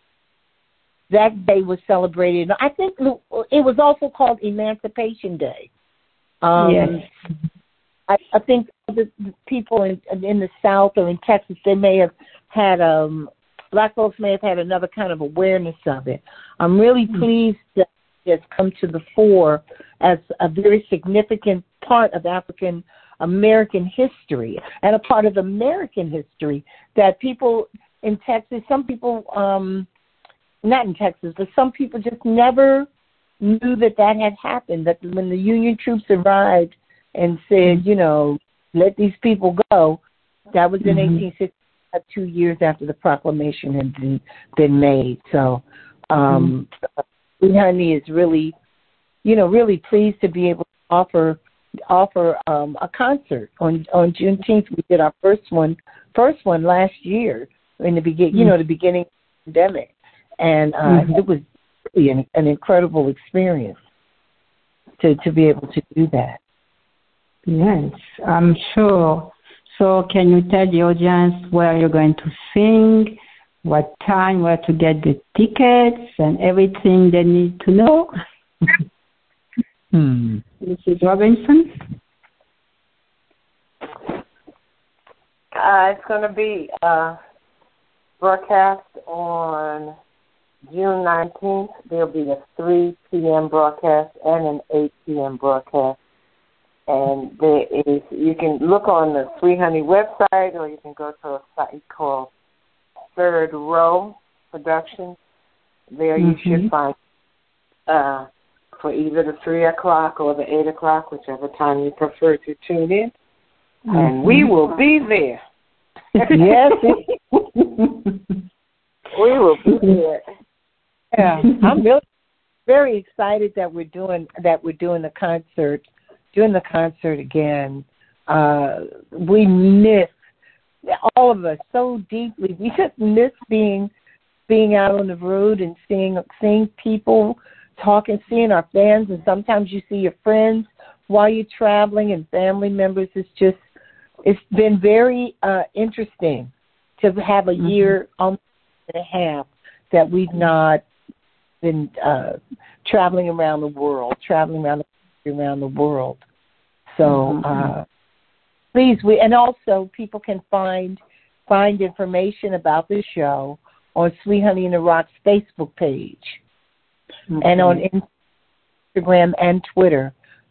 that day was celebrated. I think it was also called Emancipation Day. Um, yes. I, I think the, the people in, in the South or in Texas, they may have had, um, black folks may have had another kind of awareness of it. I'm really mm-hmm. pleased that it has come to the fore as a very significant part of African American history and a part of American history that people in Texas, some people, um, not in Texas, but some people just never knew that that had happened, that when the Union troops arrived and said, you know, let these people go, that was in mm-hmm. eighteen sixty-five, two years after the proclamation had been, been made. So um, mm-hmm. Honey is really, you know, really pleased to be able to offer offer um, a concert on on Juneteenth. We did our first one, first one last year in the begin, mm-hmm. you know, the beginning of the pandemic, and uh, mm-hmm. it was really an, an incredible experience to to be able to do that. Yes, I'm sure. So, can you tell the audience where you're going to sing, what time, where to get the tickets, and everything they need to know? Hmm. Missus Robinson? Uh, it's going to be uh, broadcast on June nineteenth. There'll be a three p.m. broadcast and an eight p.m. broadcast. And there is, you can look on the Sweet Honey website, or you can go to a site called Third Row Productions. There you mm-hmm. should find uh, for either the three o'clock or the eight o'clock, whichever time you prefer to tune in. Mm-hmm. And we will be there. Yes. We will be there. Yeah. I'm really very excited that we're doing that we're doing the concert. Doing the concert again. Uh, we miss, all of us so deeply, we just miss being being out on the road and seeing seeing people, talking, seeing our fans, and sometimes you see your friends while you're traveling and family members. It's just, it's been very uh, interesting to have a mm-hmm. year, almost and a half, that we've not been uh, traveling around the world, traveling around the around the world. So mm-hmm. uh, please, we and also people can find find information about the show on Sweet Honey in the Rock's Facebook page mm-hmm. and on Instagram and Twitter.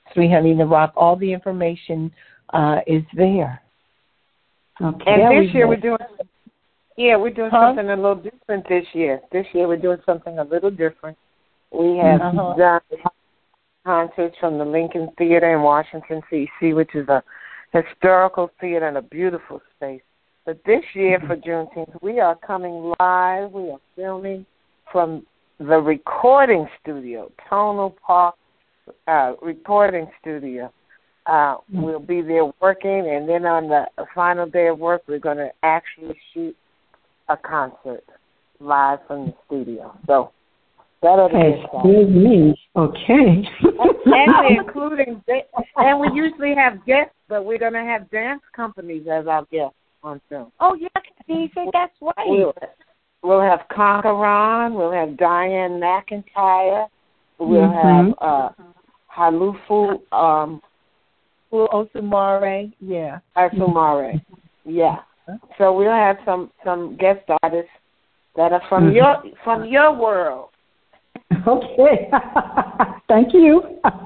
Sweet Honey in the Rock. All the information uh, is there. Okay. And yeah, this year we're doing, yeah, we're doing huh? something a little different this year. This year we're doing something a little different. We have uh-huh. done concerts from the Lincoln Theater in Washington, D C, which is a historical theater and a beautiful space. But this year for Juneteenth, we are coming live. We are filming from the recording studio, Tonal Park uh, recording studio. Uh, we'll be there working, and then on the final day of work, we're going to actually shoot a concert live from the studio. So that'll be Excuse me. Okay. and we're including, and we usually have guests, but we're going to have dance companies as our guests on film. Oh, yeah, you say that's right. We'll, we'll have Conqueron. We'll have Diane McIntyre. We'll mm-hmm. have uh, Halufu. Um, Osumare, yeah. Osumare, yeah. So we'll have some, some guest artists that are from mm-hmm. your from your world. Okay, thank you.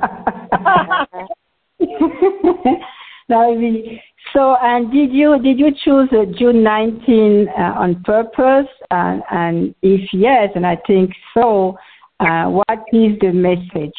Now, so, and did you did you choose uh, June nineteenth uh, on purpose? And, and if yes, and I think so, uh, what is the message?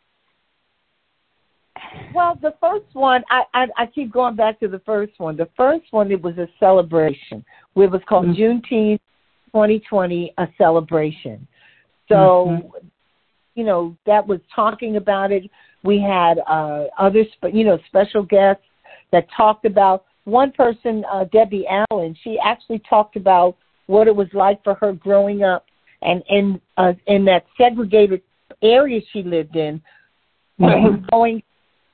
Well, the first one, I, I I keep going back to the first one. The first one, it was a celebration. It was called mm-hmm. Juneteenth twenty twenty, a celebration. So, mm-hmm. you know, that was talking about it. We had uh, other, spe- you know, special guests that talked about. One person, uh, Debbie Allen, she actually talked about what it was like for her growing up and in uh, in that segregated area she lived in, mm-hmm. going.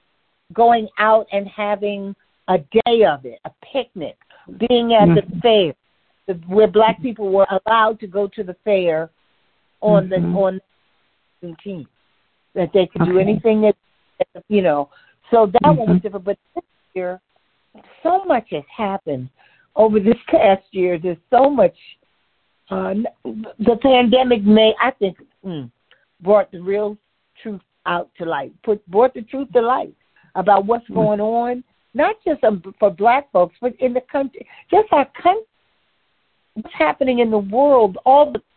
going out and having a day of it, a picnic, being at mm-hmm. the fair, the, where black people were allowed to go to the fair on mm-hmm. the on the seventeenth, that they could okay. do anything that, you know. So that mm-hmm. one was different. But this year, so much has happened over this past year. There's so much. Uh, the pandemic may, I think, mm, brought the real truth out to light, put brought the truth to light about what's going on, not just um, for black folks, but in the country, just our country, what's happening in the world, all the,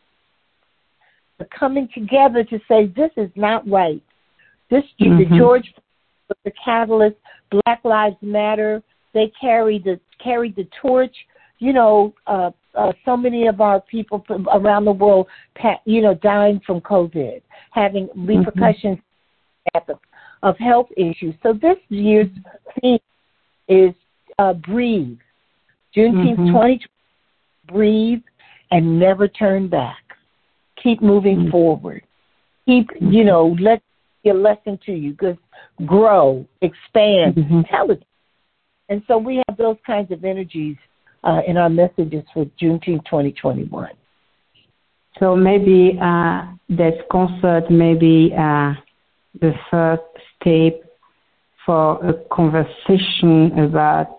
the coming together to say this is not right. This mm-hmm. the George, the catalyst, Black Lives Matter. They carried the carried the torch. You know, uh, uh, so many of our people from around the world, you know, dying from COVID, having repercussions mm-hmm. at the of health issues. So this year's theme is uh, breathe. Juneteenth mm-hmm. twenty twenty, breathe and never turn back. Keep moving mm-hmm. forward. Keep, mm-hmm. you know, let be a lesson to you. Just grow, expand, mm-hmm. tell it. And so we have those kinds of energies uh, in our messages for Juneteenth twenty twenty-one. So maybe uh, this concert, maybe uh, the first step for a conversation about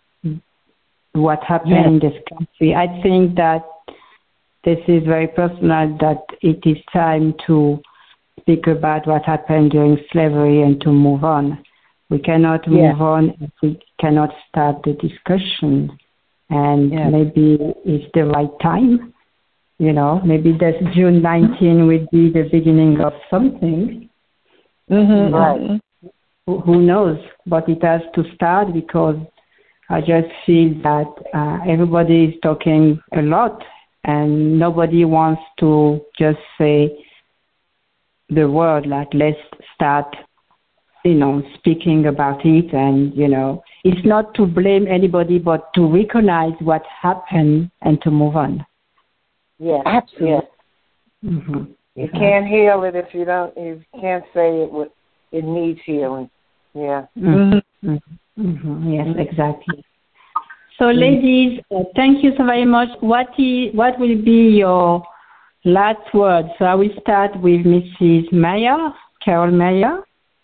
what happened yes. in this country. I think that this is very personal, that it is time to speak about what happened during slavery and to move on. We cannot move yes. on if we cannot start the discussion. And yes. maybe it's the right time. You know, maybe that June nineteenth will be the beginning of something. Mm-hmm. Right. Who, who knows? But it has to start, because I just feel that uh, everybody is talking a lot and nobody wants to just say the word, like, let's start, you know, speaking about it. And, you know, it's not to blame anybody, but to recognize what happened and to move on. Yes, absolutely. Yes. Mm-hmm. You can't heal it if you don't. You can't say it. Would, it needs healing. Yeah. Mm-hmm. Mm-hmm. Yes, exactly. So, ladies, uh, thank you so very much. What is what will be your last word? So I will start with Missus Meyer, Carol Meyer.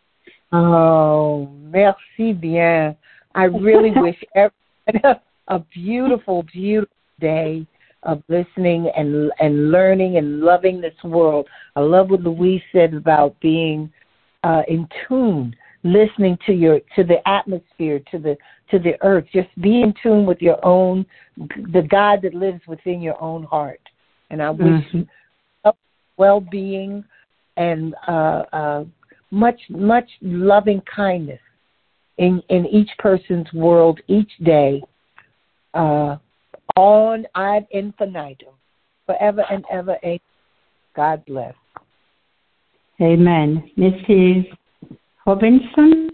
Oh, merci bien. I really wish everyone a beautiful, beautiful day of listening and and learning and loving this world. I love what Louise said about being uh, in tune listening to your to the atmosphere, to the to the earth. Just be in tune with your own, the God that lives within your own heart. And I wish Mm-hmm. you well-being and uh, uh, much much loving kindness in in each person's world each day, uh, on ad infinitum, forever and ever. Amen. God bless. Amen. Missus Robinson?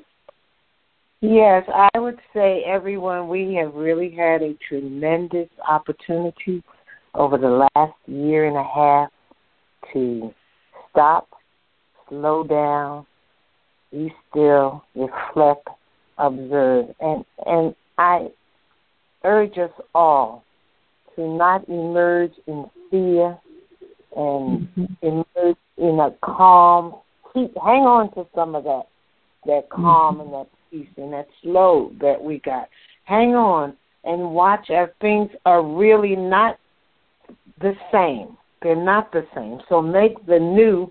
Yes, I would say, everyone, we have really had a tremendous opportunity over the last year and a half to stop, slow down, be still, reflect, observe. And, and I urge us all to not emerge in fear and mm-hmm. emerge in a calm. Keep, hang on to some of that, that calm mm-hmm. and that peace and that slow that we got. Hang on and watch as things are really not the same. They're not the same. So make the new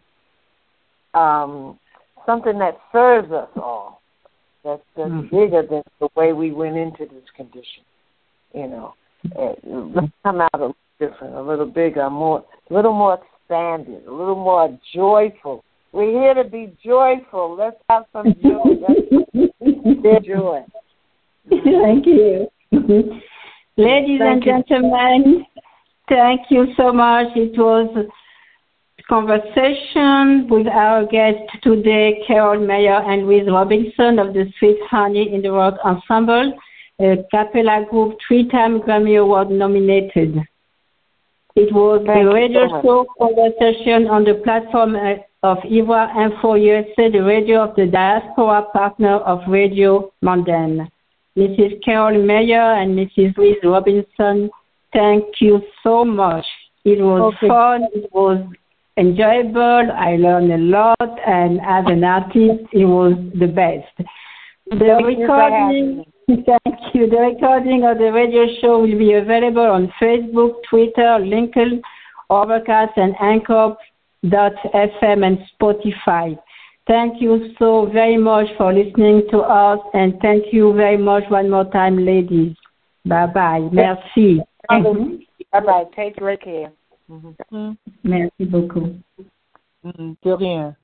um, something that serves us all. That's, that's mm-hmm. bigger than the way we went into this condition. You know, let's come out a little different, a little bigger, more, a little more expanded, a little more joyful. We're here to be joyful. Let's have some joy. Let's joy. Thank you. Ladies thank and you. Gentlemen, thank you so much. It was a conversation with our guest today, Carol Mayer and Louise Robinson of the Sweet Honey in the World Ensemble, a cappella group, three-time Grammy Award nominated. It was Thank a radio so show conversation on the platform of Ivoire Info U S A, the radio of the diaspora partner of Radio Mondaine. Missus Carol Mayer and Missus Louise Robinson, thank you so much. It was okay. fun. It was enjoyable. I learned a lot, and as an artist, it was the best. The thank recording. Thank you. The recording of the radio show will be available on Facebook, Twitter, LinkedIn, Overcast, and Anchor dot F M and Spotify. Thank you so very much for listening to us, and thank you very much one more time, ladies. Bye-bye. Merci. Mm-hmm. Bye-bye. Take great care. Mm-hmm. Merci beaucoup. Mm-hmm. De rien.